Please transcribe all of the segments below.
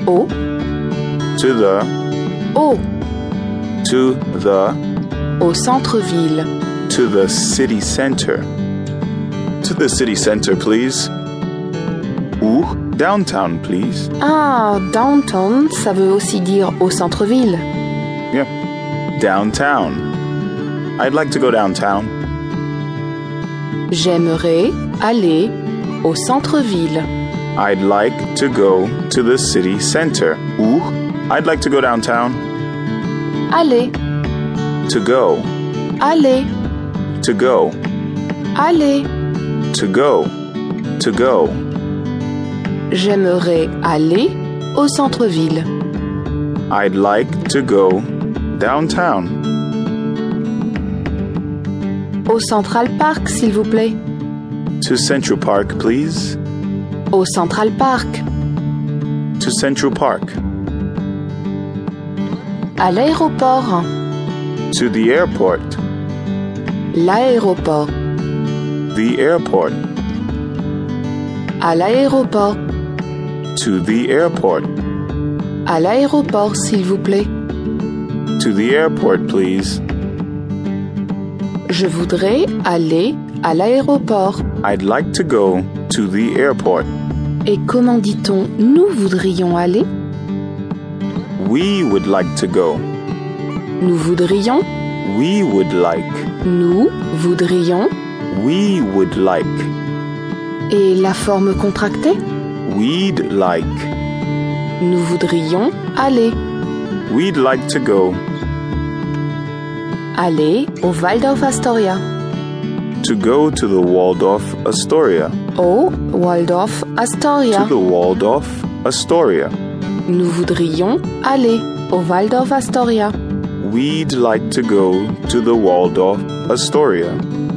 Au. To the. Au. To the. Au centre-ville. To the city center. To the city center, please. Ou downtown, please. Ah, downtown, ça veut aussi dire au centre-ville. Yeah. Downtown. I'd like to go downtown. J'aimerais aller au centre-ville. I'd like to go to the city center. Ou I'd like to go downtown. Aller. To go. Aller. To go. Aller. To go. To go. J'aimerais aller au centre-ville. I'd like to go downtown. Au Central Park, s'il vous plaît. To Central Park, please. Au Central Park. To Central Park. À l'aéroport. To the airport. L'aéroport. The airport. À l'aéroport. To the airport. À l'aéroport, s'il vous plaît. To the airport, please. Je voudrais aller à l'aéroport. I'd like to go to the airport. Et comment dit-on nous voudrions aller? We would like to go. Nous voudrions. We would like. Nous voudrions. We would like. Et la forme contractée? We'd like. Nous voudrions aller. We'd like to go. Aller au Waldorf Astoria. To go to the Waldorf Astoria. Au Waldorf Astoria. To the Waldorf Astoria. Nous voudrions aller au Waldorf Astoria. We'd like to go to the Waldorf Astoria.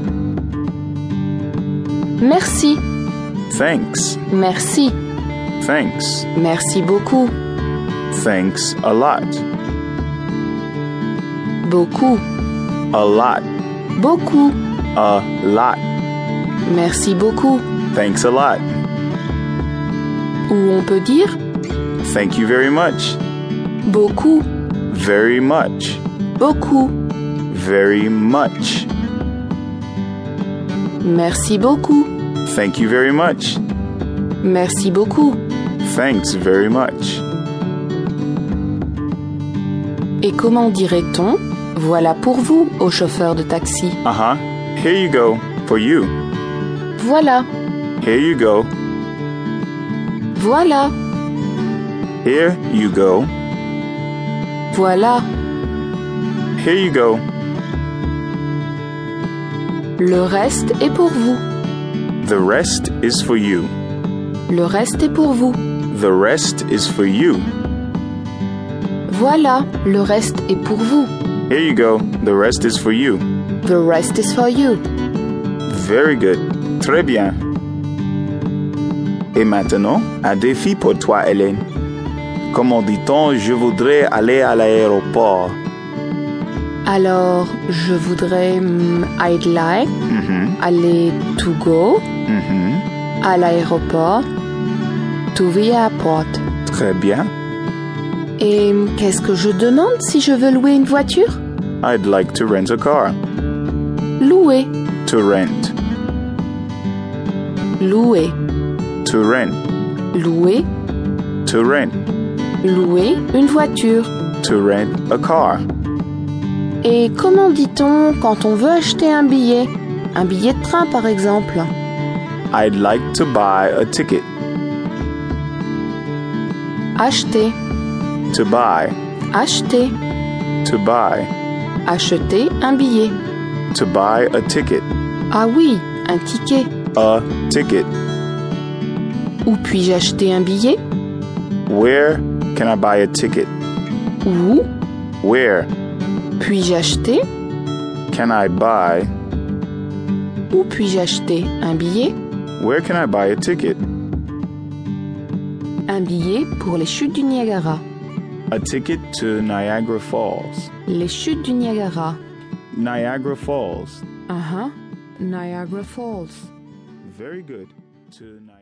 Merci. Thanks. Merci. Thanks. Merci beaucoup. Thanks a lot. Beaucoup. A lot. Beaucoup. A lot. Merci beaucoup. Thanks a lot. Ou on peut dire Thank you very much. beaucoup. Very much. Beaucoup. Very much. Merci beaucoup. Thank you very much. Merci beaucoup. Thanks very much. Et comment dirait-on voilà pour vous au chauffeur de taxi? Uh-huh. Here you go. For you. Voilà. Here you go. Voilà. Here you go. Voilà. Here you go. Le reste est pour vous. The rest is for you. Le reste est pour vous. The rest is for you. Voilà. Le reste est pour vous. Here you go. The rest is for you. The rest is for you. Very good. Très bien. Et maintenant, un défi pour toi, Hélène. Comment dit-on je voudrais aller à l'aéroport? Alors, je voudrais I'd like aller to go à l'aéroport, to the airport. Très bien. Et qu'est-ce que je demande si je veux louer une voiture? I'd like to rent a car. Louer. To rent. Louer. To rent. Louer. To rent. Louer une voiture. To rent a car. Et comment dit-on quand on veut acheter un billet? Un billet de train, par exemple. I'd like to buy a ticket. Acheter. To buy. Acheter. To buy. Acheter un billet. To buy a ticket. Ah oui, un ticket. A ticket. Où puis-je acheter un billet? Where can I buy a ticket? Où Where puis-je acheter? can I buy? Où puis-je acheter un billet? Where can I buy a ticket? Un billet pour les chutes du Niagara. A ticket to Niagara Falls. Les chutes du Niagara. Niagara Falls. Niagara Falls. Very good. To Niagara.